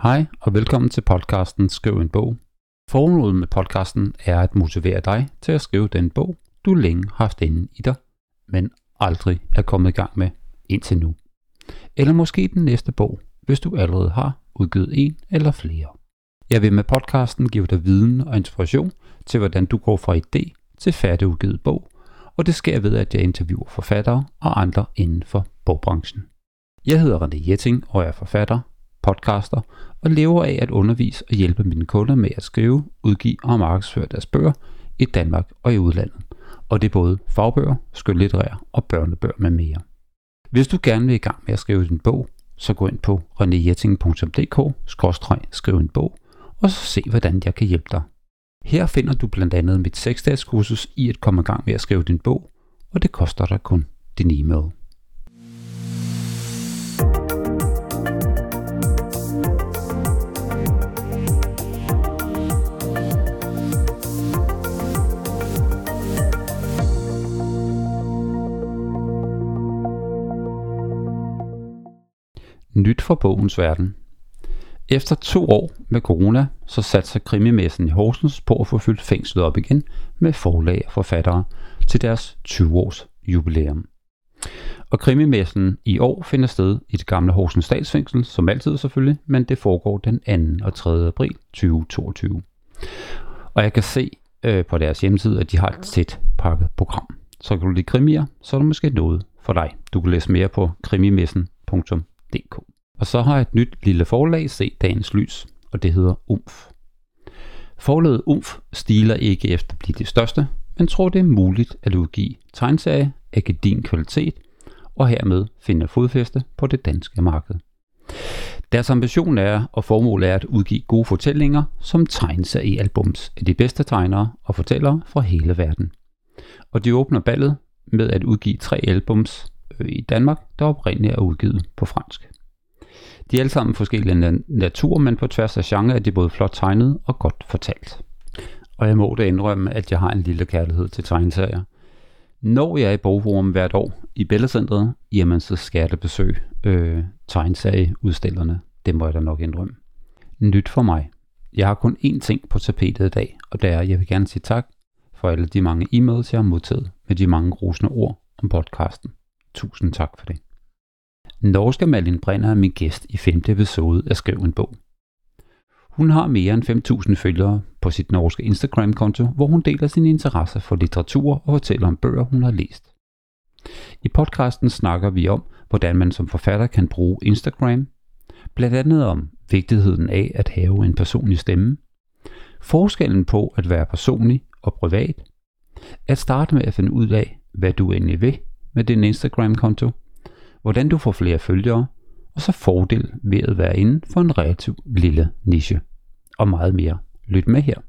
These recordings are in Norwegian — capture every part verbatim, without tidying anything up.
Hej og velkommen til podcasten Skriv en bog. Formålet med podcasten er at motivere dig til at skrive den bog, du længe har haft inde i dig, men aldrig er kommet i gang med indtil nu. Eller måske den næste bog, hvis du allerede har udgivet en eller flere. Jeg vil med podcasten give dig viden og inspiration til, hvordan du går fra idé til færdigudgivet bog, og det sker ved, at jeg interviewer forfattere og andre inden for bogbranchen. Jeg hedder René Jetting og er forfatter, podcaster og lever af at undervise og hjælpe mine kunder med at skrive, udgive og markedsføre deres bøger i Danmark og i udlandet. Og det er både fagbøger, skønlitterære og børnebøger med mere. Hvis du gerne vil i gang med at skrive din bog, så gå ind på renéjetting punktum d k skråstreg skriv en bog og så se, hvordan jeg kan hjælpe dig. Her finder du blandt andet mit seks-dages kursus i at komme i gang med at skrive din bog, og det koster dig kun din e-mail. Nyt fra bogens verden. Efter to år med corona, så satte sig krimimessen i Horsens på at få fyldt fængslet op igen med forlag og forfattere til deres tyve års jubilæum. Og krimimessen i år finder sted i det gamle Horsens Statsfængsel, som altid selvfølgelig, men det foregår den anden og tredje april tyve toogtyve. Og jeg kan se øh, på deres hjemmeside, at de har et tæt pakket program. Så kan du lide krimier, så er der måske noget for dig. Du kan læse mere på krimimessen punktum d k. Og så har et nyt lille forlag set dagens lys, og det hedder Umf. Forlaget Umf stiler ikke efter at blive det største, men tror det er muligt at udgive tegneserie af gedigen kvalitet, og hermed finde fodfæste på det danske marked. Deres ambition er, og formål er at udgive gode fortællinger som tegneseriealbums af de bedste tegnere og fortællere fra hele verden. Og de åbner ballet med at udgive tre albums i Danmark, der oprindeligt er udgivet på fransk. De er alle sammen forskellige natur, men på tværs af genre er de både flot tegnet og godt fortalt. Og jeg må da indrømme, at jeg har en lille kærlighed til tegneserier. Når jeg er i Bogforum hvert år i Bellacentret, jamen så skal jeg da besøge øh, tegneserieudstillerne. Det må jeg da nok indrømme. Nyt for mig. Jeg har kun én ting på tapetet i dag, og det er, at jeg vil gerne sige tak for alle de mange e-mails, jeg har modtaget med de mange rosende ord om podcasten. Tusind tak for det. Norske Malin Brenner er min gæst i femte episode af Skriv en bog. Hun har mere end fem tusind følgere på sit norske Instagram-konto, hvor hun deler sine interesser for litteratur og fortæller om bøger, hun har læst. I podcasten snakker vi om, hvordan man som forfatter kan bruge Instagram, blandt andet om vigtigheden af at have en personlig stemme, forskellen på at være personlig og privat, at starte med at finde ud af, hvad du egentlig vil med din Instagram-konto, hvordan du får flere følgere, og så fordel ved at være inden for en relativt lille niche. Og meget mere. Lyt med her.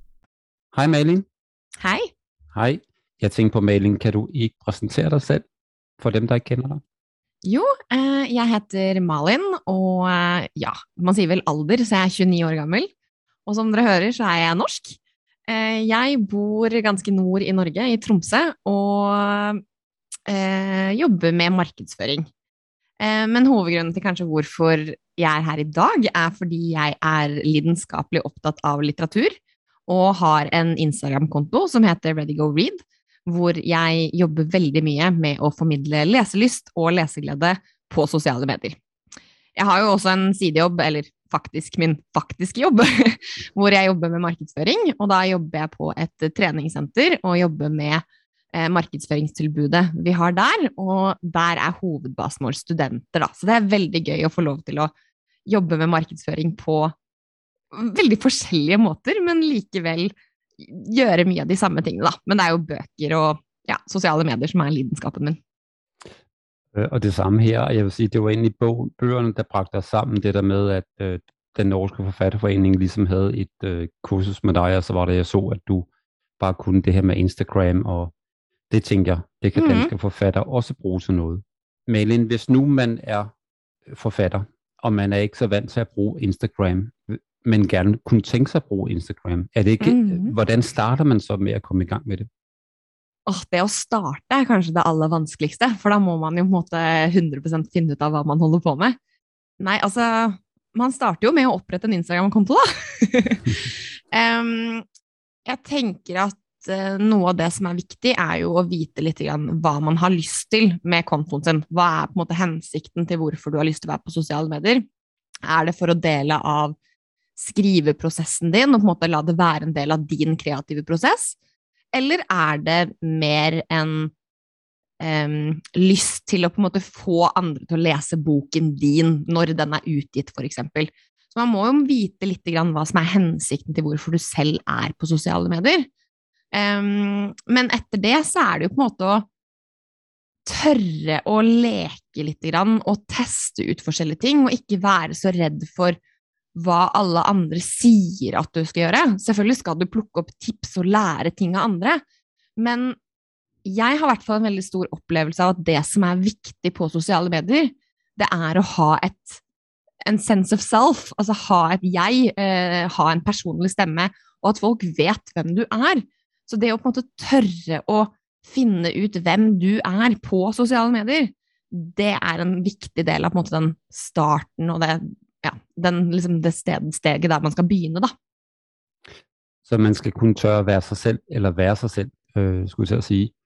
Hej Malin. Hej. Hej. Jeg tænker på Malin, kan du ikke præsentere dig selv for dem, der ikke kender dig? Jo, eh, jeg heter Malin, og eh, ja, man sier vel alder, så jeg er tjueni år gammel. Og som dere hører, så er jeg norsk. Eh, jeg bor ganske nord i Norge, i Tromsø, og Eh, jobber med markedsføring. Eh, men hovedgrunnen til kanskje hvorfor jeg er her i dag er fordi jeg er lidenskapelig opptatt av litteratur og har en Instagram-konto som heter Ready Go Read, hvor jeg jobber veldig mye med å formidle leselyst og leseglede på sosiale medier. Jeg har jo også en sidejobb, eller faktisk min faktiske jobb, hvor jeg jobber med markedsføring, og da jobber jeg på et treningssenter og jobber med markedsføringstilbudet vi har der, og der er hovedbasen vår studenter da. Så det er veldig gøy å få lov til å jobbe med markedsføring på veldig forskjellige måter, men likevel gjøre mye av de samme tingene da. Men det er jo bøker og ja, sosiale medier som er lidenskapen min. Og det samme her, jeg vil sige, det var egentlig bøgerne, der bragte os sammen, det der med, at øh, den norske forfatterforening ligesom havde et øh, kursus med dig, og så var det, jeg så, at du bare kunne det her med Instagram, og det tænker jeg, det kan danske mm-hmm. forfatter også bruge til noget. Malin, hvis nu man er forfatter, og man er ikke så vant til at bruge Instagram, men gerne kunne tænke sig at bruge Instagram, er det ikke, mm-hmm. hvordan starter man så med at komme i gang med det? Åh, det å starte er kanskje det aller vanskeligste, for da må man jo på en måte hundre prosent finne ut av hva man holder på med. Nei, altså, man starter jo med å opprette en Instagram-konto da. um, jeg tenker at uh, noe av det som er viktig er jo å vite litt grann hva man har lyst til med kontoen sin. Hva er på en måte hensikten til hvorfor du har lyst til å være på sosiale medier? Er det for å dele av skriveprosessen din, og på en måte la det være en del av din kreative prosess? Eller er det mer en um, lyst til å på en måte få andre til å lese boken din når den er utgitt, for eksempel? Så man må jo vite litt grann hva som er hensikten til hvorfor du selv er på sosiale medier. Um, men etter det så er det jo på en måte å tørre å leke litt grann, og teste ut forskjellige ting, og ikke være så redd for hva alle andre sier at du skal gjøre. Selvfølgelig skal du plukke opp tips og lære ting av andre, men jeg har i hvert fall en veldig stor opplevelse av at det som er viktig på sosiale medier, det er å ha et en sense of self, altså ha et jeg, eh, ha en personlig stemme, og at folk vet hvem du er. Så det å på en måte tørre å finne ut hvem du er på sosiale medier, det er en viktig del av på en måte den starten, og det, ja, den, liksom det sted, steget der man skal begynne da. Så man skal kunne tørre være sig selv, eller være sig selv, øh, skulle jeg til at sige.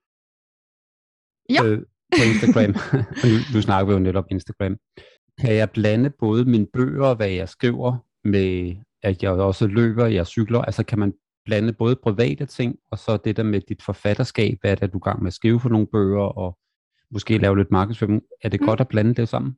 Ja. Øh, på Instagram. nu, nu snakker vi jo netop Instagram. Kan jeg blande både mine bøger og hvad jeg skriver med, at jeg også løber, jeg cykler? Altså kan man blande både private ting, og så det der med dit forfatterskab, hvad er det, du er gang med at skrive for nogle bøger, og måske lave lidt markedsføring? Er det mm. godt at blande det sammen?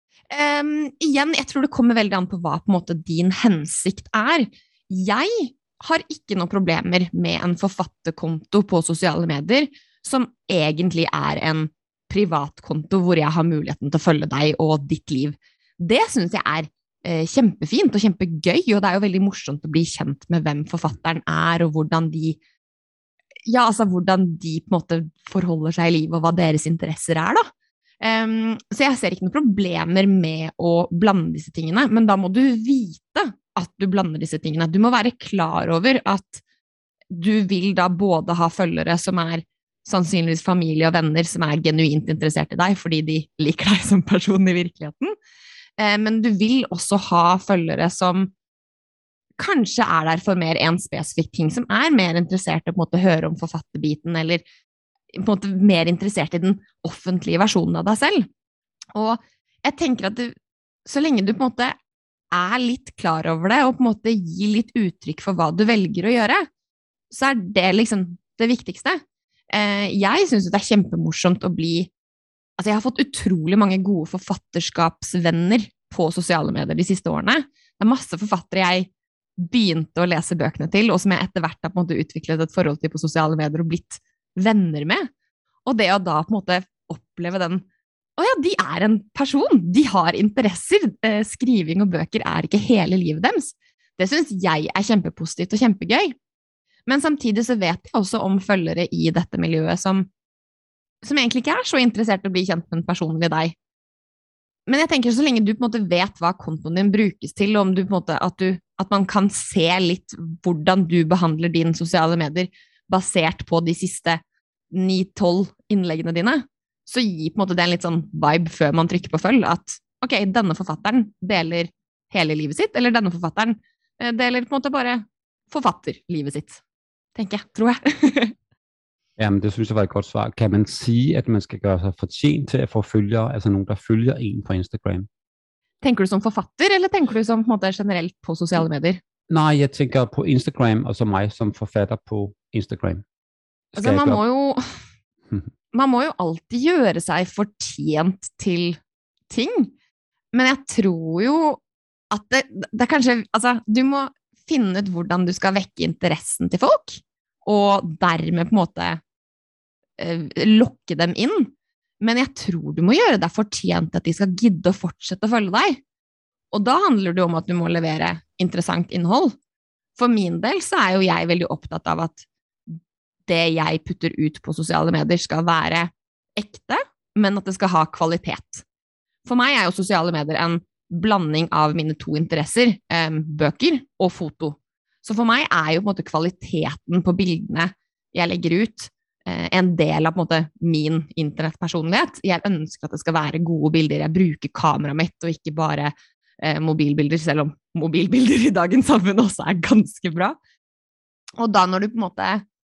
Um, igjen, jeg tror det kommer veldig an på hva på en måte din hensikt er. Jeg har ikke noen problemer med en forfatterkonto på sosiale medier, som egentlig er en privatkonto hvor jeg har muligheten til å følge deg og ditt liv. Det synes jeg er eh, kjempefint og kjempegøy, og det er jo veldig morsomt å bli kjent med hvem forfatteren er, og hvordan de, ja, altså hvordan de på en måte forholder seg i livet, og hva deres interesser er da. Um, så jeg ser ikke noen problemer med å blande disse tingene, men da må du vite at du blander disse tingene. Du må være klar over at du vil da både ha følgere som er sannsynligvis familie og venner som er genuint interessert i deg, fordi de liker deg som person i virkeligheten. Eh, men du vil også ha følgere som kanskje er der for mer en spesifikk ting, som er mer interessert i å på en måte høre om forfatterbiten, eller på en måte mer interessert i den offentlige versjonen av deg selv. Og jeg tenker at du, så lenge du på en måte er litt klar over det, og på en måte gir litt uttrykk for hva du velger å gjøre, så er det liksom det viktigste. Jeg synes det er kjempemorsomt å bli, altså jeg har fått utrolig mange gode forfatterskapsvenner på sosiale medier de siste årene. Det er masse forfattere jeg begynte å lese bøkene til, og som jeg etter hvert har på en måte utviklet et forhold til på sosiale medier og blitt venner med. Og det å da på en måte oppleve den, å ja, de er en person, de har interesser, skriving og bøker er ikke hele livet deres. Det synes jeg er kjempepositivt og kjempegøy. Men samtidig så vet jeg også om følgere i dette miljøet som, som egentlig ikke er så interessert i å bli kjent med en personlig deg. Men jeg tenker så lenge du på en måte vet hva kontoen din brukes til, og om du på en måte, at, du, at man kan se litt hvordan du behandler dine sosiale medier basert på de siste ni tolv innleggene dine, så gir på en måte det en litt sånn vibe før man trykker på følg, at ok, denne forfatteren deler hele livet sitt, eller denne forfatteren deler på en måte bare forfatterlivet sitt. Tenker jeg, tror jeg. Jamen, det synes jeg var et godt svar. Kan man sige, at man skal gøre sig fortjent til at få følgere, altså nogen, der følger en på Instagram? Tenker du som forfatter, eller tenker du som på en måte generelt på sosiale medier? Nej, jeg tænker på Instagram, og så mig som forfatter på Instagram. Skal altså, man må jo, man må jo alltid gjøre seg fortjent til ting, men jeg tror jo at det, det er kanskje, altså, du må finne ut hvordan du skal vekke interessen til folk, og dermed på en måte eh, lokke dem inn. Men jeg tror du må gjøre deg fortjent at de skal gidde å fortsette å følge deg. Og da handler det om at du må levere interessant innhold. For min del så er jo jeg veldig opptatt av at det jeg putter ut på sosiale medier skal være ekte, men at det skal ha kvalitet. For meg er jo sosiale medier en blanding av mine to interesser, eh, bøker og foto. Så for meg er jo på en måte kvaliteten på bildene jeg legger ut eh, en del av på en måte min internettpersonlighet. Jeg ønsker at det skal være gode bilder. Jeg bruker kameraet mitt og ikke bare eh, mobilbilder, selv om mobilbilder i dagens samfunn også er ganske bra. Og da når du på en måte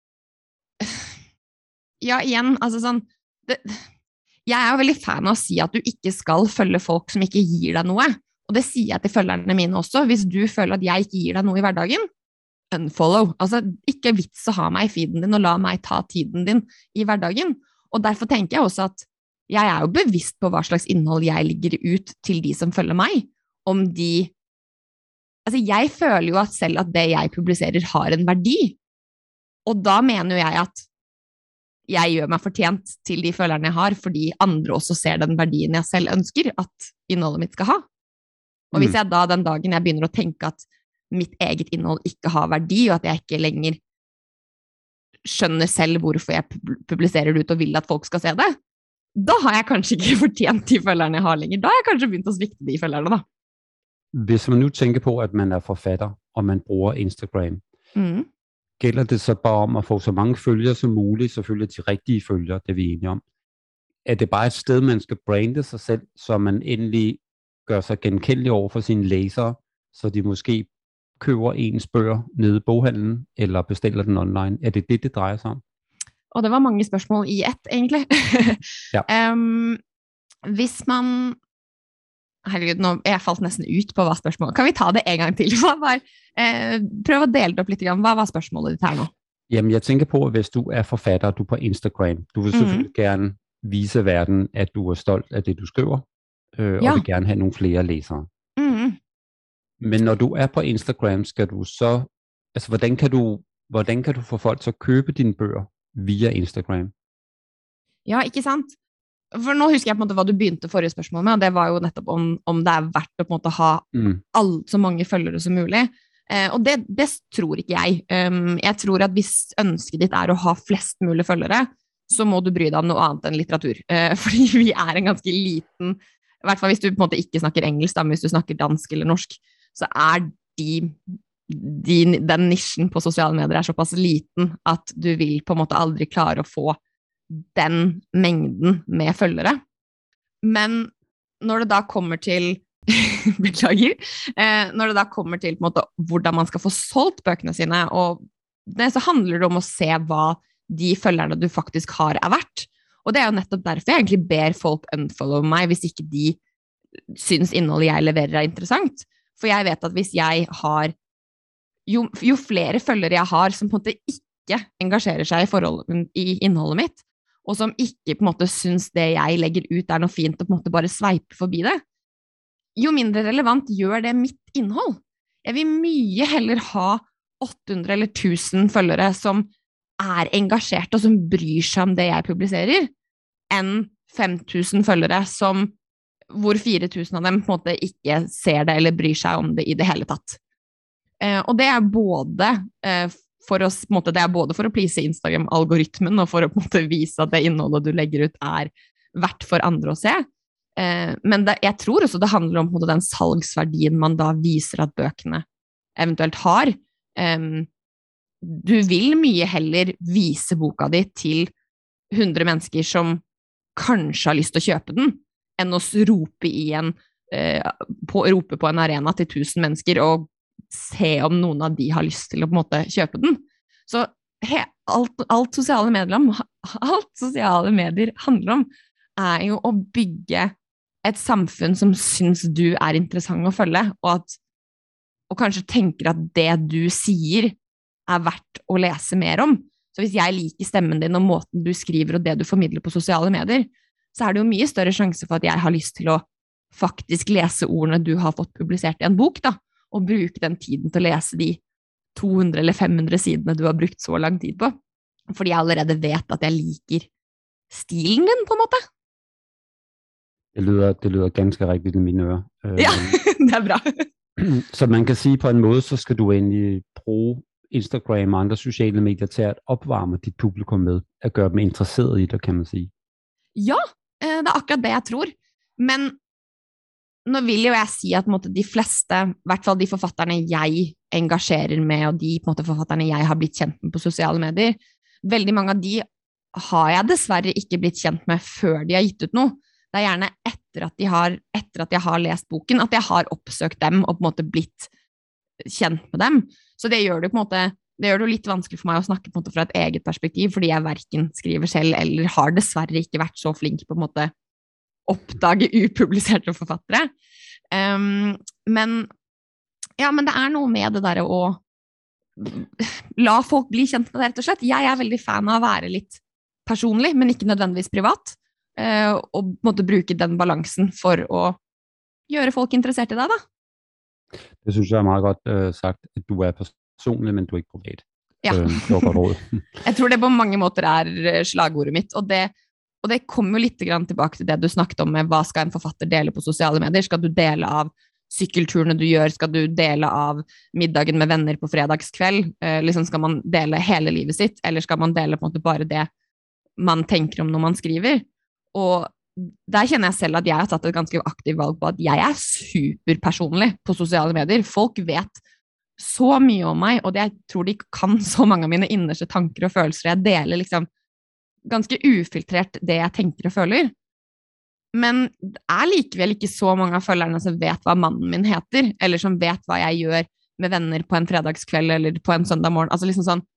ja, igjen, altså sånn det, jeg er jo veldig fan av å si at du ikke skal følge folk som ikke gir deg noe, og det sier jeg til følgerne mine også. Hvis du føler at jeg ikke gir deg noe i hverdagen, unfollow. Altså, ikke vits å ha meg i feeden din og la meg ta tiden din i hverdagen. Og derfor tenker jeg også at jeg er jo bevisst på hva slags innhold jeg ligger ut til de som følger meg, om de altså jeg føler jo at selv at det jeg publiserer har en verdi, og da mener jo jeg at jeg gjør meg fortjent til de følgerne jeg har, fordi andre også ser den verdien jeg selv ønsker at innholdet mitt skal ha. Og hvis jeg da den dagen jeg begynner å tenke at mitt eget innhold ikke har verdi, og at jeg ikke lenger skjønner selv hvorfor jeg publiserer det ut og vil at folk skal se det, da har jeg kanskje ikke fortjent de følgerne jeg har lenger. Da har jeg kanskje begynt å svikte de følgerne da. Hvis man nu tænker på, at man er forfatter, og man bruger Instagram, mm. gælder det så bare om at få så mange følgere som muligt, selvfølgelig de rigtige følgere, det vi er enige om. Er det bare et sted, man skal brande sig selv, så man endelig gør sig genkendelig over for sine læsere, så de måske køber ens bøger nede i boghandlen, eller bestiller den online? Er det det, det drejer sig om? Og det var mange spørsmål i ett, egentlig. ja. um, hvis man herregud, nå jeg falt nesten ut på hva spørsmålet. Kan vi ta det en gang til? Hva var, eh, prøv å dele det opp litt. Hva var spørsmålet ditt her nå? Jamen, jeg tænker på, at hvis du er forfatter, du er på Instagram, du vil selvfølgelig mm. gerne vise verden, at du er stolt af det, du skriver, øh, ja. og vil gerne have nogle flere læsere. Mm. Men når du er på Instagram, skal du så, altså hvordan kan du, hvordan kan du få folk til at købe dine bøger via Instagram? Ja, ikke sant? For nå husker jeg på en måte hva du begynte forrige spørsmål med, og det var jo nettopp om, om det er verdt å på en måte ha mm. all, så mange følgere som mulig. Eh, og det, det tror ikke jeg. Um, jeg tror at hvis ønsket ditt er å ha flest mulig følgere, så må du bry deg om noe annet enn litteratur. Eh, fordi vi er en ganske liten, i hvert fall hvis du på en måte ikke snakker engelsk, da, men hvis du snakker dansk eller norsk, så er de, de, den nisjen på sosiale medier er såpass liten at du vil på en måte aldri klare å få den mengden med følgere. Men når det da kommer til beklager, eh, når det da kommer til på en måte, hvordan man skal få solgt bøkene sine, og det, så handler det om å se hva de følgerne du faktisk har er verdt. Og det er jo nettopp derfor jeg egentlig ber folk unfollow meg hvis ikke de syns innholdet jeg leverer er interessant. For jeg vet at hvis jeg har jo, jo flere følgere jeg har som på en måte ikke engasjerer seg i, forhold, i innholdet mitt, og som ikke på en måte syns det jeg legger ut er noe fint og på en måte bare sveiper forbi det, jo mindre relevant gjør det mitt innhold. Jeg vil mye heller ha åtte hundre eller tusen følgere som er engasjert og som bryr seg om det jeg publiserer, enn fem tusen følgere som, hvor fire tusen av dem på en måte ikke ser det eller bryr seg om det i det hele tatt. Eh, og det er både eh, for å, på en måte, det er både for å please Instagram-algoritmen og for å på en måte vise at det innholdet du legger ut er verdt for andre å se. Eh, men det, jeg tror også det handler om på en måte, den salgsverdien man da viser at bøkene eventuelt har. Eh, du vil mye heller vise boka di til hundre mennesker som kanskje har lyst til å kjøpe den, enn å rope, i en, eh, på, rope på en arena til tusen mennesker og se om noen av de har lyst til å på en måte kjøpe den. Så he, alt, alt, sosiale medier om, alt sosiale medier handler om er jo å bygge et samfunn som syns du er interessant å følge, og, at, og kanskje tenker at det du sier er verdt å lese mer om. Så hvis jeg liker stemmen din og måten du skriver og det du formidler på sosiale medier, så er det jo mye større sjanse for at jeg har lyst til å faktisk lese ordene du har fått publisert i en bok, da, og bruke den tiden til å lese de to hundre eller fem hundre sidene du har brukt så lang tid på, fordi jeg allerede vet at jeg liker stilen din, på en måte. Det lyder, det lyder ganske rigtigt i mine ører. Ja, det er bra. Så man kan sige på en måde, så skal du egentlig bruge Instagram og andre sociale medier til at opvarme dit publikum med, at gøre dem interesseret i det, kan man sige. Ja, det er akkurat det jeg tror. Men nå vil jo jeg si at måte, de fleste, i hvert fall de forfatterne jeg engasjerer med, og de måte, forfatterne jeg har blitt kjent med på sosiale medier, veldig mange av de har jeg dessverre ikke blitt kjent med før de har gitt ut noe. Det er gjerne etter at, de har, etter at jeg har lest boken, at jeg har oppsøkt dem og på en måte blitt kjent med dem. Så det gjør det på en måte det gjør det jo litt vanskelig for meg å snakke på en måte fra et eget perspektiv, fordi jeg hverken skriver selv eller har dessverre ikke vært så flink på en måte oppdage upubliserte forfattere. Um, men ja, men det er noe med det der å la folk bli kjent med det, rett og slett. Jeg er veldig fan av å være litt personlig, men ikke nødvendigvis privat, uh, og måtte bruke den balansen for å gjøre folk interessert i deg, da. Det synes jeg er meget godt uh, sagt, at du er personlig, men du er ikke privat. Ja. Uh, det var godt råd. Jeg tror det på mange måter er slagordet mitt, og det, og det kommer jo litt grann tilbake til det du snakket om med hva skal en forfatter dele på sosiale medier. Skal du dele av sykkelturene du gjør, skal du dele av middagen med venner på fredagskveld, uh, liksom skal man dele hele livet sitt, eller skal man dele på en måte bare det man tenker om når man skriver? Og der kjenner jeg selv at jeg har tatt et ganske aktivt valg på at jeg er superpersonlig på sosiale medier. Folk vet så mye om meg, og jeg tror de kan så mange av mine innerste tanker og følelser. Jeg deler liksom ganske ufiltrert det jeg tenker og føler. Men det er likevel ikke så mange av følgerne som vet hva mannen min heter, eller som vet hva jeg gjør med venner på en fredagskveld eller på en søndag morgen. Altså liksom sånn,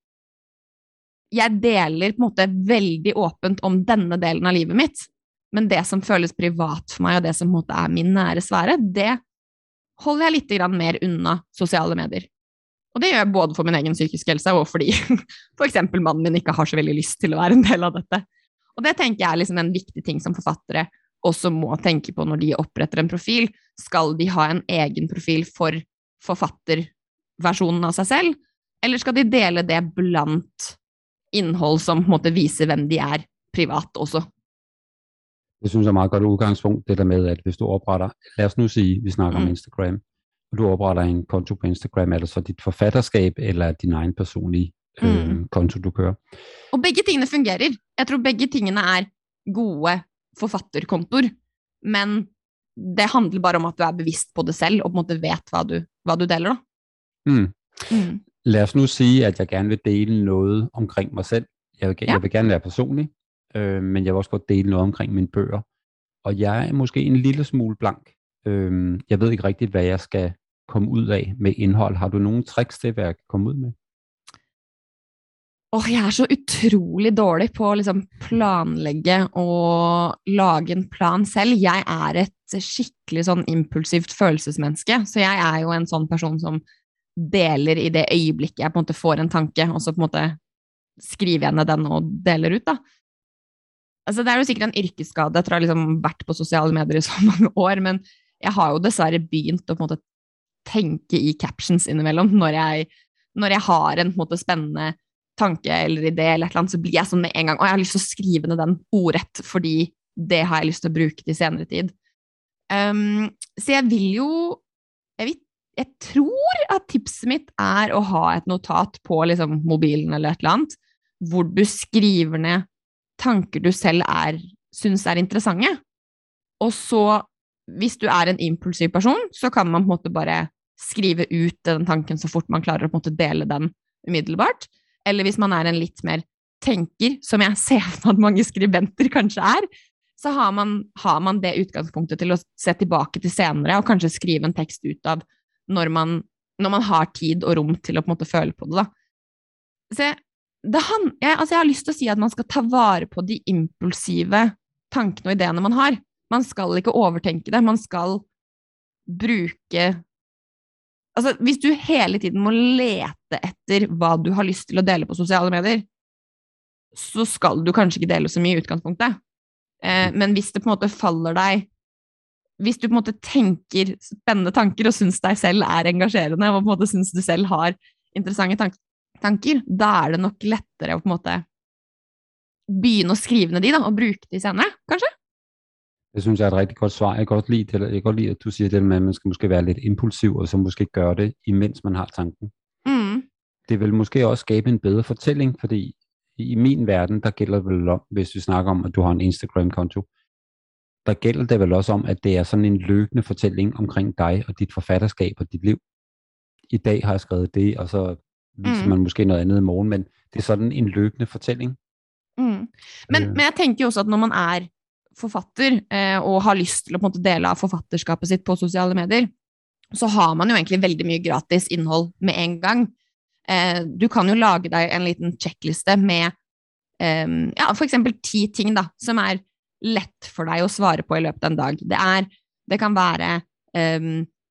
jeg deler på en måte veldig åpent om denne delen av livet mitt, men det som føles privat for meg, og det som på en måte er min nære sfære, det holder jeg litt grann mer unna sosiale medier. Og det gjør jeg både for min egen psykiske helse, og fordi for eksempel mannen min ikke har så veldig lyst til å være en del av dette. Og det tenker jeg er liksom en viktig ting som forfattere også må tenke på når de oppretter en profil. Skal de ha en egen profil for forfatterversjonen av seg selv, eller skal de dele det blant innhold som på en måte viser hvem de er privat også? Det synes jeg er meget godt udgangspunkt, det der med, at hvis du opretter, lad os nu sige, vi snakker mm. om Instagram, og du opretter en konto på Instagram, er det så dit forfatterskab, eller din egen personlige øh, mm. konto, du kører? Og begge tingene fungerer. Jeg tror begge tingene er gode forfatterkontor, men det handler bare om at du er bevisst på det selv, og på en måte vet hva du, hva du deler da. Mm. Mm. Lad os nu sige, at jeg gerne vil dele noget omkring mig selv. Jeg vil, ja. jeg vil gerne være personlig, øh, men jeg vil også godt dele noget omkring mine bøger. Og jeg er måske en lille smule blank. Øh, jeg ved ikke rigtigt, hvad jeg skal komme ud af med indhold. Har du nogle tricks til, hvad jeg kan komme ud med? Åh, jeg er så utrolig dårlig på å liksom planlegge og lage en plan selv. Jeg er et skikkelig sånn impulsivt følelsesmenneske, så jeg er jo en sånn person som deler i det øyeblikket jeg på en måte får en tanke, og så på en måte skriver jeg ned den og deler ut da. Altså, det er jo sikkert en yrkesskade, jeg tror jeg har liksom vært på sosiale medier i så mange år, men jeg har jo dessverre begynt å på en måte tenke i captions innimellom. Når jeg, når jeg har en på en måte spennende tanke eller idé eller et eller annet, så blir jeg sånn med en gang, og jeg har lyst til å skrive ned den ordrett, fordi det har jeg lyst til å bruke til senere tid. Um, så jeg vil jo, jeg, vil, jeg tror at tipset mitt er å ha et notat på liksom, mobilen eller et eller annet, hvor du skriver ned tanker du selv er, synes er interessante. Og så, hvis du er en impulsiv person, så kan man på en måte bare skrive ut den tanken så fort man klarer å på en måte dele den umiddelbart. Eller hvis man er en litt mer tenker, som jeg ser for at mange skribenter kanskje er, så har man, har man det utgangspunktet til å se tilbake til senere, og kanskje skrive en tekst ut av når man, når man har tid og rom til å på en måte føle på det da. Så det han, jeg, altså jeg har lyst til å si at man skal ta vare på de impulsive tankene og ideene man har. Man skal ikke overtenke det, man skal bruke... Altså, hvis du hele tiden må lete etter hva du har lyst til å dele på sosiale medier, så skal du kanskje ikke dele så mye i utgangspunktet. Eh, men hvis det på en måte faller deg, hvis du på en måte tenker spennende tanker og synes deg selv er engasjerende, og på en måte synes du selv har interessante tanker, tanker, da er det nok lettere å på en måte begynne å skrive ned de da, og bruke de senere, kanskje? Det synes jeg er et rigtig godt svar. Jeg kan godt lide, jeg kan godt lide at du siger det med, at man skal måske være lidt impulsiv, og så måske gøre det, imens man har tanken. Mm. Det vil måske også skabe en bedre fortælling, fordi i min verden, der gælder det vel om, hvis vi snakker om, at du har en Instagram-konto, der gælder det vel også om, at det er sådan en løbende fortælling omkring dig og dit forfatterskab og dit liv. I dag har jeg skrevet det, og så viser mm. man måske noget andet i morgen, men det er sådan en løbende fortælling. Mm. Men, øh. men jeg tenker jo også at når man er forfatter eh, og har lyst til å på en måte dele av forfatterskapet sitt på sosiale medier, så har man jo egentlig veldig mye gratis innhold med en gang. Eh, du kan jo lage deg en liten checkliste med eh, ja, for eksempel ti ting da, som er lett for deg å svare på i løpet av en dag. Det, er, det kan være eh,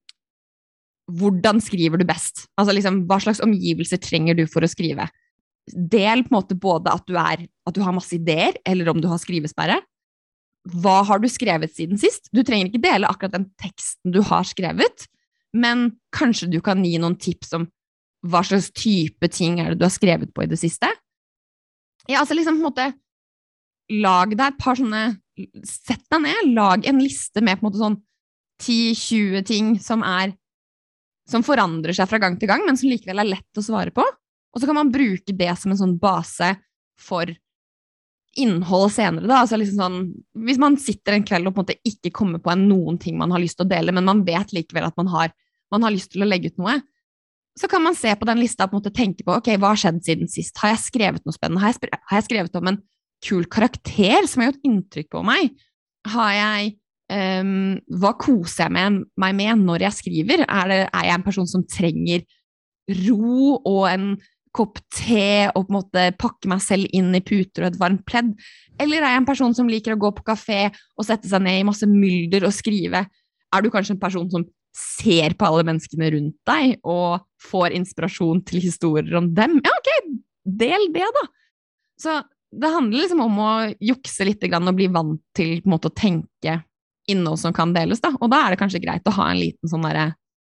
hvordan skriver du best? Altså liksom, hva slags omgivelser trenger du for å skrive? Del på en måte både at du, er, at du har masse ideer, eller om du har skrivesperre. Hva har du skrevet siden sist? Du trenger ikke dele akkurat den teksten du har skrevet, men kanskje du kan gi noen tips om hva slags type ting er det du har skrevet på i det siste. Ja, altså liksom på en måte, lag deg et par sånne, sett deg ned, lag en liste med på en måte sånn ti til tjue ting som er, som forandrer seg fra gang til gang, men som likevel er lett å svare på. Og så kan man bruke det som en sånn base for innhold senere da, altså liksom sånn, hvis man sitter en kveld og på en måte ikke kommer på en noen ting man har lyst til å dele, men man vet likevel at man har, man har lyst til å legge ut noe, så kan man se på den lista og på en måte tenke på, ok, hva har skjedd siden sist? Har jeg skrevet noe spennende? Har jeg, har jeg skrevet om en kul karakter som har gjort inntrykk på meg? Har jeg, um, hva koser jeg med, meg med når jeg skriver? Er, det, er jeg en person som trenger ro og en kopp te og på en måte pakke meg selv inn i puter og et varmt pledd? Eller er jeg en person som liker å gå på kafé og sette seg ned i masse mylder og skrive? Er du kanskje en person som ser på alle menneskene rundt deg og får inspirasjon til historier om dem? Ja, ok, del det da. Så det handler liksom om å jukse litt grann og bli vant til på en måte å tenke innhold som kan deles da. Og da er det kanskje greit å ha en liten sånn der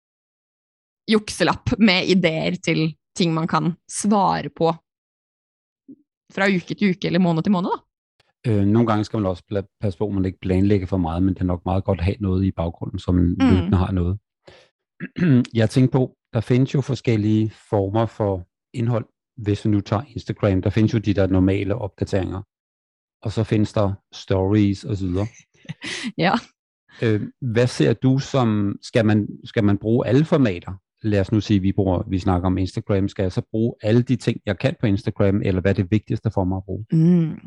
jukselapp med ideer til ting man kan svare på fra uke til uke eller måned til måned da. Øh, nogle gange skal man også passe på, at man ikke planlægger for meget, men det er nok meget godt at have noget i baggrunden, som mm. løbende har noget. Jeg tænker på, der findes jo forskellige former for indhold, hvis vi nu tager Instagram. Der findes jo de der normale opdateringer, og så findes der stories og så videre. Ja. Øh, hvad ser du som, skal man, skal man bruge alle formater? Lad os nu sige, vi, bruger, vi snakker om Instagram. Skal jeg så bruge alle de ting, jeg kan på Instagram, eller hvad er det vigtigste for mig at bruge? Mm.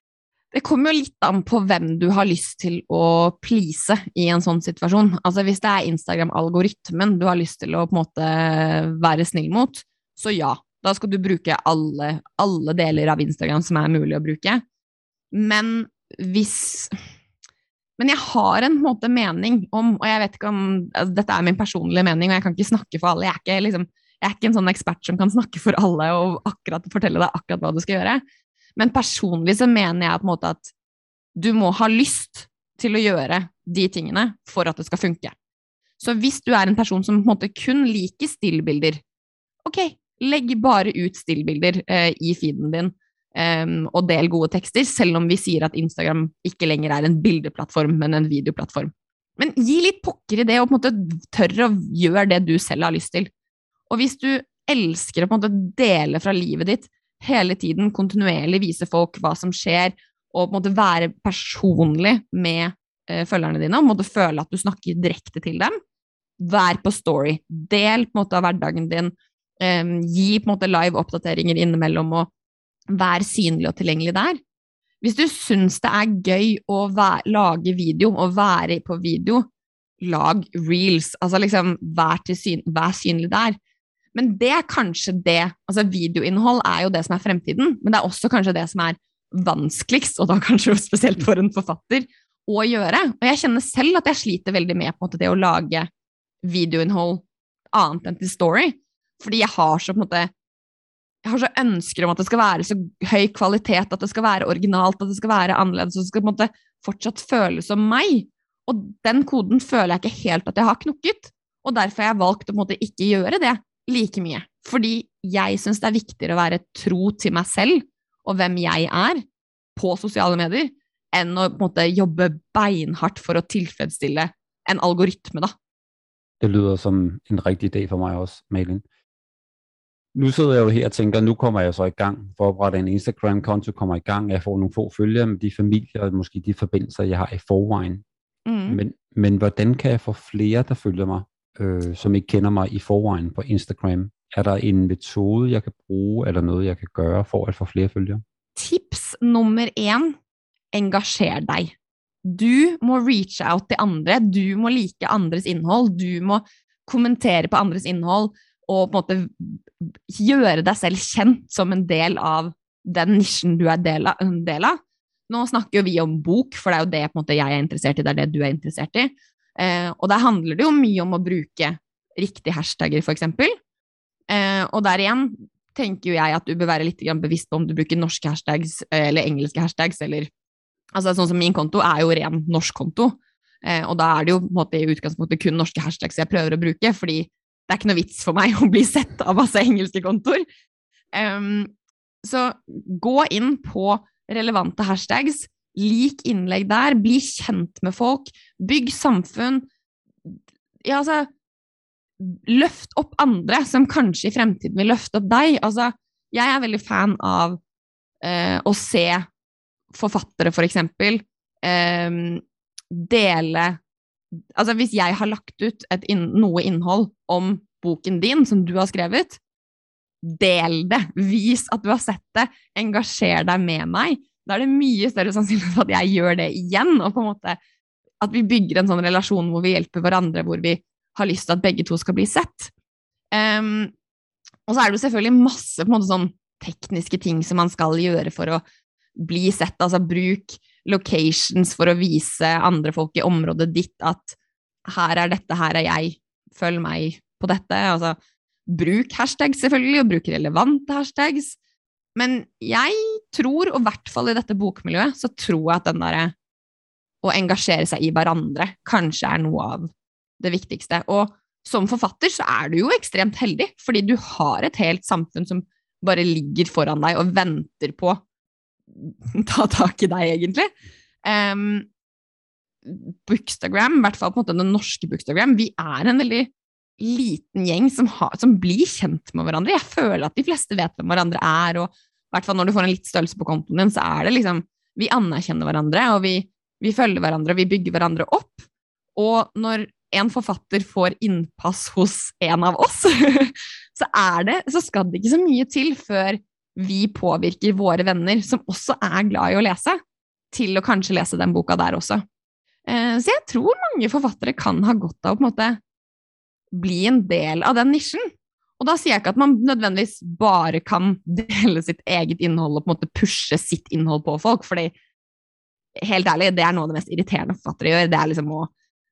Det kommer jo litt an på hvem du har lyst til å please i en sånn situasjon. Altså hvis det er Instagram-algoritmen du har lyst til å på en måte være snill mot, så ja, da skal du bruke alle, alle deler av Instagram som er mulig å bruke. Men hvis... Men jeg har en måte mening om, og jeg vet ikke om, altså, dette er min personlige mening, og jeg kan ikke snakke for alle, jeg er ikke, liksom, jeg er ikke en sånn ekspert som kan snakke for alle og akkurat fortelle deg akkurat hva du skal gjøre. Men personlig så mener jeg på en måte at du må ha lyst til å gjøre de tingene for at det skal funke. Så hvis du er en person som på en måte kun liker stillbilder, ok, legg bare ut stillbilder eh, i feeden din, Um, og del gode tekster, selv om vi sier at Instagram ikke lenger er en bildeplattform, men en videoplattform. Men gi litt pokker i det, og på en måte tørre å gjøre det du selv har lyst til. Og hvis du elsker å på en måte dele fra livet ditt, hele tiden kontinuerlig vise folk hva som skjer, og på en måte være personlig med uh, følgerne dine, og på en måte føle at du snakker direkte til dem, vær på story, del på en måte av hverdagen din, um, gi på en måte live oppdateringer innimellom, og vær synlig og tilgjengelig der. Hvis du synes det er gøy å være, lage video og være på video, lag reels, altså liksom vær, til syn, vær synlig der. Men det er kanskje det, altså videoinnhold er jo det som er fremtiden, men det er også kanskje det som er vanskeligst, og da kanskje spesielt for en forfatter, å gjøre. Og jeg kjenner selv at jeg sliter veldig med på en måte det å lage videoinnhold annet enn til story, fordi jeg har så på en måte jeg har så ønsker om at det skal være så høy kvalitet, at det skal være originalt, at det skal være annerledes, og det skal på en måte fortsatt føles som meg. Og den koden føler jeg ikke helt at jeg har knukket, og derfor har jeg valgt å på en måte ikke gjøre det like mye. Fordi jeg synes det er viktigere å være tro til meg selv, og hvem jeg er, på sosiale medier, enn å på en måte jobbe beinhardt for å tilfredsstille en algoritme da. Det lyder som en rigtig idé for mig også, Malin. Nu sidder jeg jo her og tænker, nu kommer jeg så i gang for at oprette en Instagram-konto, kommer i gang, jeg får nogle få følgere med de familier og måske de forbindelser, jeg har i forvejen. Mm. Men, men hvordan kan jeg få flere, der følger mig, øh, som ikke kender mig i forvejen på Instagram? Er der en metode, jeg kan bruge, eller noget, jeg kan gøre for at få flere følgere? Tips nummer en, engasjer deg. du må reach out til andre, du må like andres innhold, du må kommentere på andres innhold, og på en måte gjøre deg selv kjent som en del av den nisjen du er del av. En del av. Nå snakker jo vi om bok, for det er jo det på en måte, jeg er interessert i, det er det du er interessert i. Eh, og der handler det jo mye om å bruke riktige hashtagger, for eksempel. Eh, og der igjen tenker jo jeg at du bør være litt bevisst på om du bruker norske hashtags eller engelske hashtags, eller altså sånn som min konto er jo ren norsk konto, eh, og da er det jo på en måte i utgangspunktet kun norske hashtags jeg prøver å bruke, fordi det er ikke noe vits for meg å bli sett av masse engelske kontoer. Um, så gå inn på relevante hashtags, lik innlegg der, bli kjent med folk, bygg samfunn, ja altså, løft opp andre som kanskje i fremtiden vil løfte opp deg. Altså, jeg er veldig fan av uh, å se forfattere for eksempel um, dele, altså hvis jeg har lagt ut et inn, noe innhold om boken din som du har skrevet, del det, vis at du har sett det, engasjer deg med meg, da er det mye større sannsynlighet for at jeg gjør det igjen, og på en måte at vi bygger en sånn relasjon hvor vi hjelper hverandre, hvor vi har lyst til at begge to skal bli sett. Um, og så er det jo selvfølgelig masse på en måte sånn tekniske ting som man skal gjøre for å bli sett, altså bruk locations for å vise andre folk i området ditt at her er dette, her er jeg, følg meg på dette, altså bruk hashtags selvfølgelig, og bruk relevante hashtags, men jeg tror, og i hvert fall i dette bokmiljøet, så tror jeg at den der å engasjere seg i hverandre kanskje er noe av det viktigste, og som forfatter så er du jo ekstremt heldig, fordi du har et helt samfunn som bare ligger foran deg og venter på ta tak i deg egentlig. Um, Bookstagram, i hvert fall på en måte den norske Bookstagram, vi er en veldig liten gjeng som, har, som blir kjent med hverandre. Jeg føler at de fleste vet hvem hverandre er, og i hvert fall når du får en litt størrelse på kontoen din, så er det liksom, vi anerkjenner hverandre, og vi, vi følger hverandre, og vi bygger hverandre opp. Og når en forfatter får innpass hos en av oss, så er det, så skal det ikke så mye til før vi påvirker våre venner, som også er glad i å lese, til å kanskje lese den boka der også. Så jeg tror mange forfattere kan ha godt av å på en måte bli en del av den nisjen. Og da sier jeg ikke at man nødvendigvis bare kan dele sitt eget innhold og på en måte pushe sitt innhold på folk, fordi helt ærlig, det er noe av det mest irriterende forfattere gjør. Det er liksom å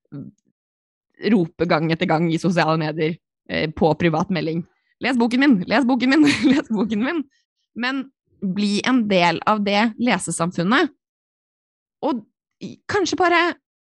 rope gang etter gang i sosiale medier på privatmelding. Les boken min, les boken min, les boken min. Men bli en del av det lesesamfunnet, og kanskje bare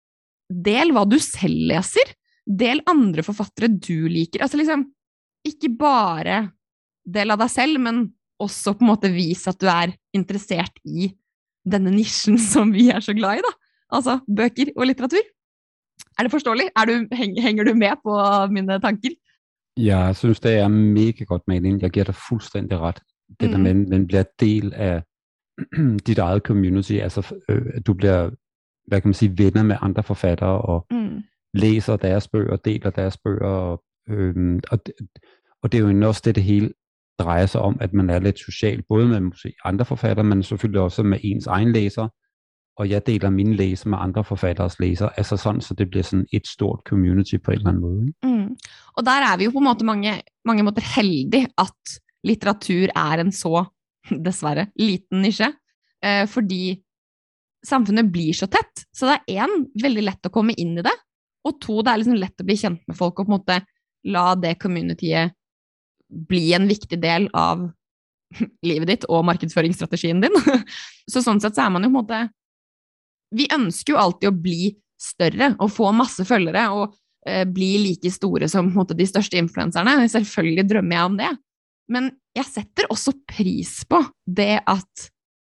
del hva du selv leser, del andre forfattere du liker, altså liksom, ikke bare del av deg selv, men også på en måte vise at du er interessert i denne nisjen som vi er så glad i da, altså bøker og litteratur. Er det forståelig? Er du, henger du med på mine tanker? Jeg synes, det er mega godt mening. Jeg giver dig fuldstændig ret. Det der med, man bliver del af dit eget community, altså øh, du bliver, hvad kan man sige, venner med andre forfattere, og mm. læser deres bøger, deler deres bøger, og, øh, og, det, og det er jo også det, det hele drejer sig om, at man er lidt social, både med måske andre forfattere, men selvfølgelig også med ens egen læser, og jeg deler mine læser med andre forfatteres læser, altså sådan, så det bliver sådan et stort community på en eller anden måde. Mm. Og der er vi jo på en måte mange, mange måter heldige at litteratur er en så, dessverre, liten nisje, eh, fordi samfunnet blir så tett, så det er en, veldig lett å komme inn i det, og to, det er liksom lett å bli kjent med folk, og på en måte la det communityet bli en viktig del av livet ditt og markedsføringsstrategien din. Så sånn sett så er man jo på en måte, vi ønsker jo alltid å bli større, og få masse følgere, og eh, bli like store som på en måte, de største influenserne. Selvfølgelig drømmer jeg om det. Men jeg setter også pris på det at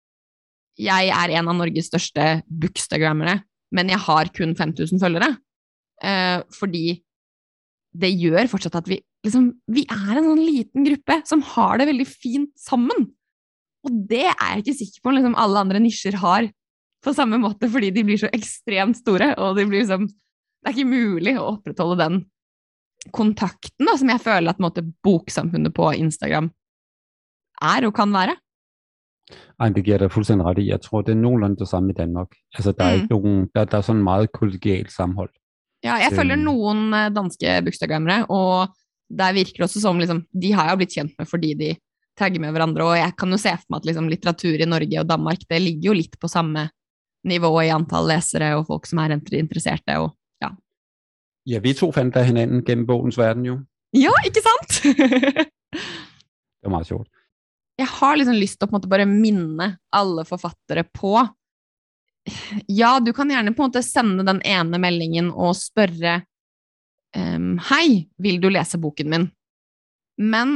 jeg er en av Norges største bookstagrammere, men jeg har kun fem tusen følgere. Eh, fordi det gjør fortsatt at vi, liksom, vi er en sånn liten gruppe som har det veldig fint sammen. Og det er jeg ikke sikker på liksom, alle andre nisjer har på samme måte, fordi de blir så ekstremt store, og de blir liksom, det er ikke mulig å opprettholde den kontakten da, som jeg føler at måte, boksamfunnet på Instagram er og kan være. Ej, det giver dig fuldstændig ret i. Jeg tror, det er nogenlunde det samme i Danmark. Altså, der er ikke Mm. nogen, der, der er sådan meget kollegialt sammenhold. Ja, jeg følger Øhm, noen eh, danske bookstagrammere, og der virker det også som liksom, de har jeg blitt kjent med fordi de tagger med hverandre, og jeg kan jo se for meg at liksom, litteratur i Norge og Danmark det ligger jo litt på samme nivå i antall lesere og folk som er interesserte. Og, ja. ja, vi to fandt der hinanden gennem bogens verden jo. ja, ikke sant? Det var meget sjovt. Jeg har liksom lyst til å på en måte bare minne alle forfattere på. Ja, du kan gjerne på en måte sende den ene meldingen og spørre um, hei, vil du lese boken min? Men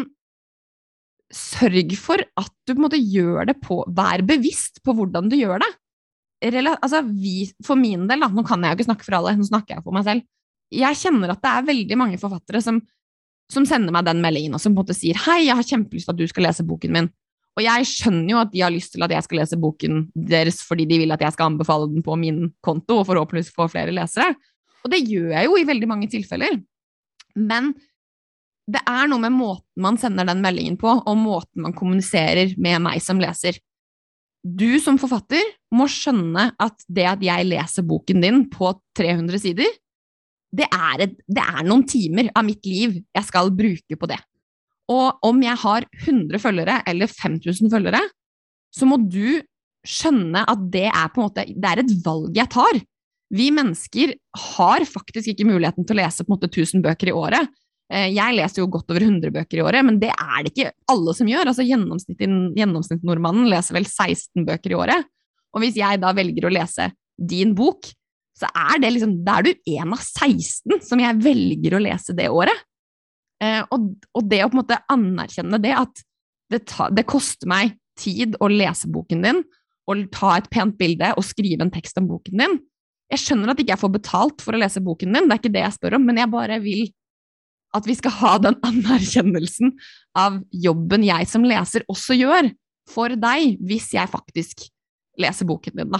sørg for at du på en måte gjør det på, vær bevisst på hvordan du gjør det. Rela, altså vi, for min del, da, nå kan jeg jo ikke snakke for alle, nå snakker jeg for meg selv. Jeg kjenner at det er veldig mange forfattere som, som sender meg den meldingen, og som på en måte sier, hei, jeg har kjempelyst til at du skal lese boken min. Og jeg skjønner jo at de har lyst til at jeg skal lese boken deres fordi de vil at jeg skal anbefale den på min konto og forhåpentligvis få flere lesere. Og det gjør jeg jo i veldig mange tilfeller. Men det er noe med måten man sender den meldingen på, og måten man kommuniserer med meg som leser. Du som forfatter må skjønne at det at jeg leser boken din på tre hundre sider, det er, et, det er noen timer av mitt liv jeg skal bruke på det. Og om jeg har hundre følgere eller fem tusen følgere, så må du skjønne at det er på en måte, det er et valg jeg tar. Vi mennesker har faktisk ikke muligheten til å lese på en måte tusen bøker i året. Jeg leser jo godt over hundre bøker i året, men det er det ikke alle som gjør. Altså gjennomsnittsnordmannen leser vel seksten bøker i året. Og hvis jeg da velger å lese din bok, så er det liksom, da er du en av seksten som jeg velger å lese det året. Eh, og, og det å på en måte anerkjenne det at det, ta, det koster meg tid å lese boken din, og ta et pent bilde og skrive en tekst om boken din. Jeg skjønner at ikke jeg får betalt for å lese boken din, det er ikke det jeg spør om, men jeg bare vil at vi skal ha den anerkjennelsen av jobben jeg som leser også gjør for deg, hvis jeg faktisk leser boken din da.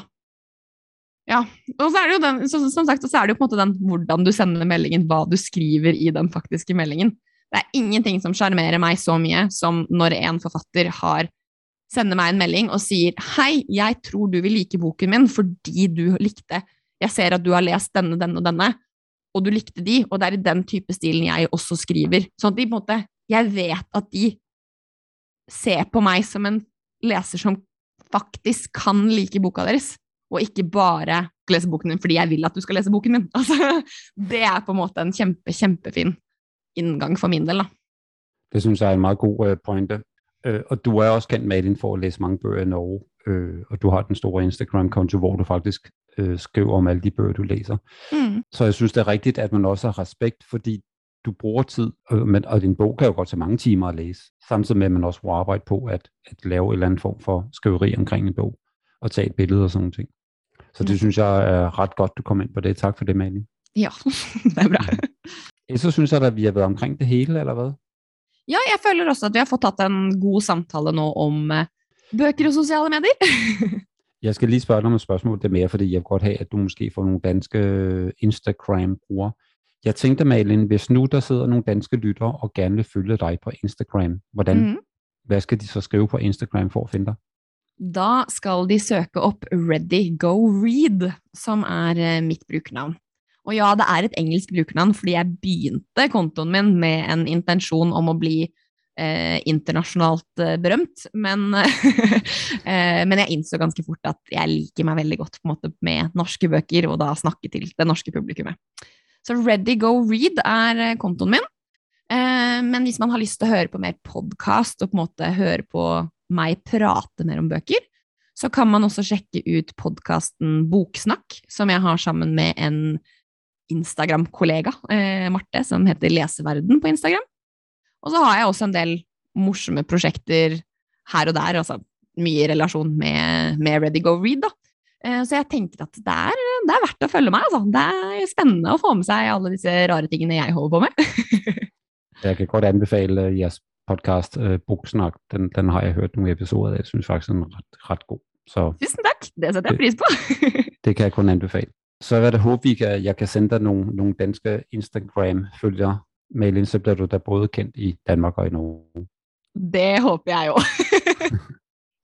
Ja, og så er det jo den, så, som sagt, så er det jo på en måte den hvordan du sender meldingen, hva du skriver i den faktiske meldingen. Det er ingenting som sjarmerer meg så mye som når en forfatter har sender meg en melding og sier hei, jeg tror du vil like boken min fordi du likte, jeg ser at du har lest denne, denne og denne, og du likte de, og det er i den type stilen jeg også skriver. Sånn at de på en måte, jeg vet at de ser på meg som en leser som faktisk kan like boka deres, og ikke bare lese boken din fordi jeg vil at du skal lese boken min. Altså, det er på en måte en kjempe, kjempefin inngang for min del, da. Det synes jeg er en meget god uh, pointe. Uh, og du er også kendt med din for at læse mange bøger i Norge, uh, og du har den store Instagram-konto, hvor du faktisk uh, skriver om alle de bøger, du læser. Mm. Så jeg synes, det er rigtigt, at man også har respekt, fordi du bruger tid, øh, men, og din bog kan jo godt tage mange timer at læse, samtidig med, at man også bruger arbejde på at, at lave en eller anden form for skriveri omkring en bog, og tage et billede og sådan nogle ting. Så det mm. synes jeg er ret godt, du kom ind på det. Tak for det, Malin. Ja, det er bra. Så synes jeg, at vi har været omkring det hele, eller hvad? Ja, jeg føler også, at vi har fået taget en god samtale nå om uh, bøker og sociale medier. Jeg skal lige spørge dig om et spørgsmål, det er mere, fordi jeg vil godt have, at du måske får nogle danske Instagram-brugere. Jeg tænkte, Malin, hvis nu der sidder nogle danske lyttere og gerne vil følge dig på Instagram, hvordan, mm. hvad skal de så skrive på Instagram for at finde dig? Da skal de søke opp Ready Go Read, som er mitt brukernavn. Og ja, det er et engelsk brukernavn, fordi jeg begynte kontoen min med en intensjon om å bli eh, internasjonalt eh, berømt, men, eh, men jeg innså ganske fort at jeg liker meg veldig godt på en måte med norske bøker, og da snakke til det norske publikummet. Så Ready Go Read er kontoen min, eh, men hvis man har lyst til å høre på mer podcast og på en måte høre på meg prate mer om bøker, så kan man også sjekke ut podcasten Boksnakk, som jeg har sammen med en Instagram-kollega, eh, Marte, som heter Leseverden på Instagram. Og så har jeg også en del morsomme prosjekter her og der, altså mye i relasjon med, med Ready Go Read da. Eh, så jeg tenker at det er, det er verdt å følge meg, altså. Det er spennende å få med seg alle disse rare tingene jeg holder på med. Jeg kan godt anbefale jeres podcast, uh, Boksnakk. Den, den har jeg hørt nogle episoder af. Jeg synes faktisk, den er ret, ret god. Så tusen takk, det setter jeg pris på. Det kan jeg kun anbefale. Så vil jeg håbe, vi kan, jeg kan sende dig nogle, nogle danske Instagram-følgere. Malin, så bliver du da både kendt i Danmark og i Norge. Det håber jeg jo.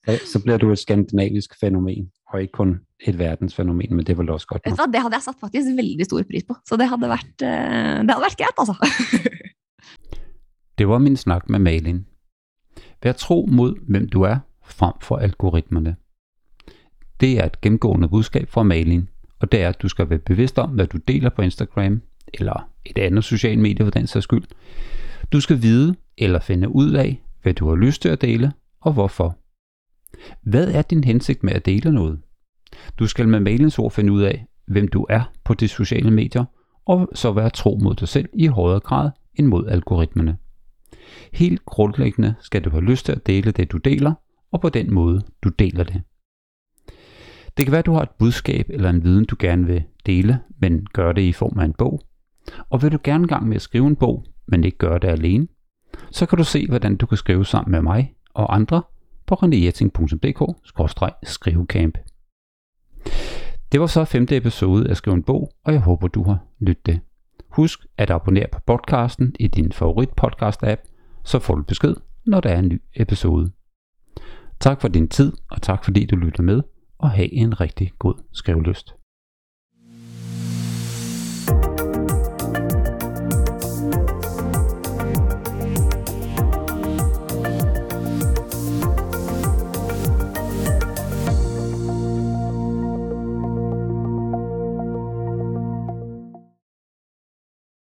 Så bliver du et skandinavisk fænomen, og ikke kun et verdensfænomen, men det var også godt nok. Det hadde jeg satt faktisk veldig stor pris på, så det hadde vært, det hadde vært greit, altså. Det var min snak med Malin. Vær tro mod, hvem du er, frem for algoritmerne. Det er et gennemgående budskab fra Malin, og det er, at du skal være bevidst om, hvad du deler på Instagram, eller et andet socialt medie for den sags skyld. Du skal vide eller finde ud af, hvad du har lyst til at dele, og hvorfor. Hvad er din hensigt med at dele noget? Du skal med Malins ord finde ud af, hvem du er på de sociale medier, og så være tro mod dig selv i højere grad end mod algoritmerne. Helt grundlæggende skal du have lyst til at dele det, du deler, og på den måde, du deler det. Det kan være, at du har et budskab eller en viden, du gerne vil dele, men gør det i form af en bog. Og vil du gerne gang med at skrive en bog, men ikke gøre det alene, så kan du se, hvordan du kan skrive sammen med mig og andre på renejetting punktum d k skråstreg skrivecamp. Det var så femte episode af Skriv en bog, og jeg håber, du har lyttet det. Husk at abonnere på podcasten i din favorit podcast app, så får du besked, når der er en ny episode. Tak for din tid, og tak fordi du lytter med, og have en rigtig god skrivelyst.